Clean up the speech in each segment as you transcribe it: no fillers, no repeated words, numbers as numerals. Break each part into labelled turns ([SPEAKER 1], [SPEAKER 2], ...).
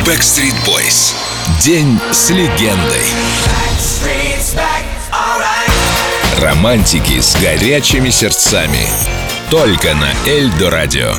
[SPEAKER 1] Backstreet Boys. День с легендой. Романтики с горячими сердцами. Только на Эльдо Радио.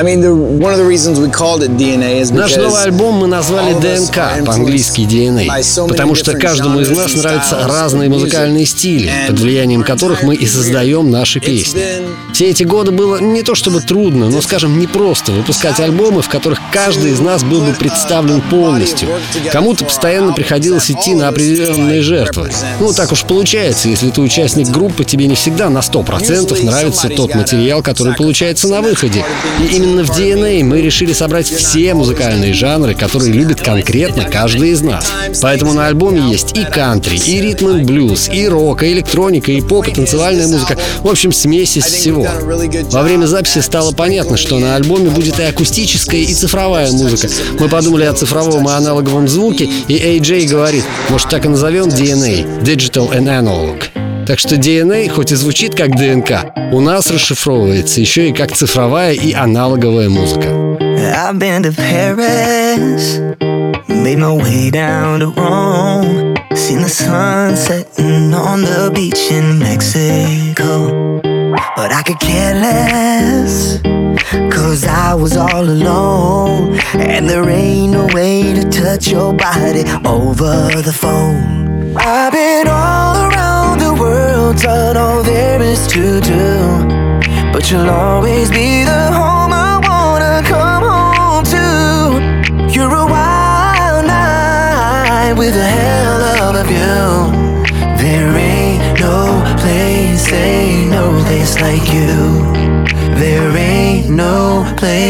[SPEAKER 2] Наш новый альбом мы назвали ДНК, по-английски DNA, потому что каждому из нас нравятся разные музыкальные стили, под влиянием которых мы и создаем наши песни. Все эти годы было не то чтобы трудно, но, скажем, непросто выпускать альбомы, в которых каждый из нас был бы представлен полностью. Кому-то постоянно приходилось идти на определенные жертвы. Ну, так уж получается, если ты участник группы, тебе не всегда на 100% нравится тот материал, который получается на выходе. И именно в DNA мы решили собрать все музыкальные жанры, которые любит конкретно каждый из нас. Поэтому на альбоме есть и кантри, и ритм-н-блюз, и рок, и электроника, и поп, и танцевальная музыка. В общем, смесь из всего. Во время записи стало понятно, что на альбоме будет и акустическая, и цифровая музыка. Мы подумали о цифровом и аналоговом звуке, и AJ говорит, может, так и назовем DNA — Digital and Analog. Так что DNA, хоть и звучит как ДНК, у нас расшифровывается еще и как цифровая и аналоговая музыка.
[SPEAKER 3] I've been to Paris, made my way down to Rome, seen the sun setting on the beach in Mexico. But I could care less, 'cause I was all alone, and there ain't no way to touch your body over the phone. I've been all around the world, done all there is to do, but you'll always be the home I wanna come home to. You're a wild night with a hell of a view. There ain't no place like you. There ain't no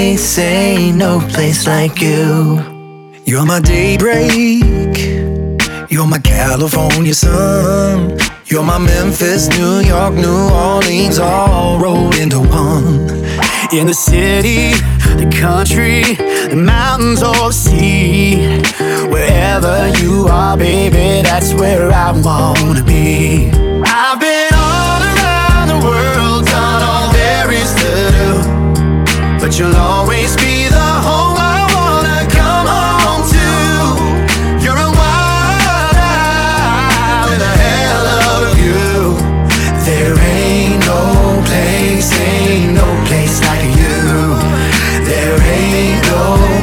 [SPEAKER 3] place like you. You're my daybreak, you're my California sun, you're my Memphis, New York, New Orleans, all rolled into one. In the city, the country, the mountains or the sea, wherever you are, baby, that's where I wanna be. I've been all around the world, done all there is to do, but you'll always be the home I wanna come home to. You're a wild eye with a hell of a view. There ain't no place like you. There ain't no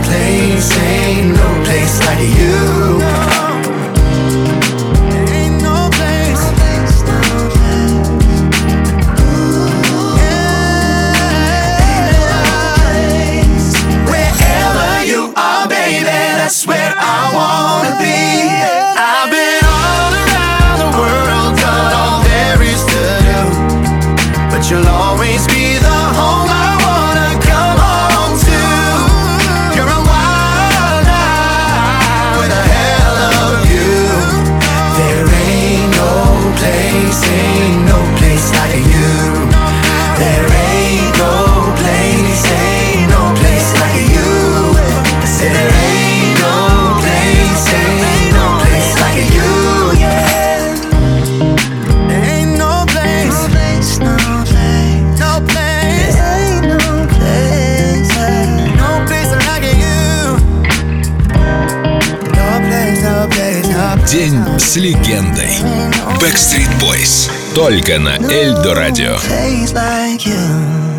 [SPEAKER 3] place like you. Ain't no place. Wherever you are, baby, that's where I wanna be. I've been all around the world, done all there is to do, but you'll always be the home I wanna come home to. You're a wild eye with a hell of a view. There ain't no place like you. There ain't no place like you. I said there ain't no place like you. Yeah. There ain't no place, no place, ain't no place like you. No place.
[SPEAKER 1] День с легендой. Backstreet Boys. Только на Эльдо Радио.
[SPEAKER 3] Place like you.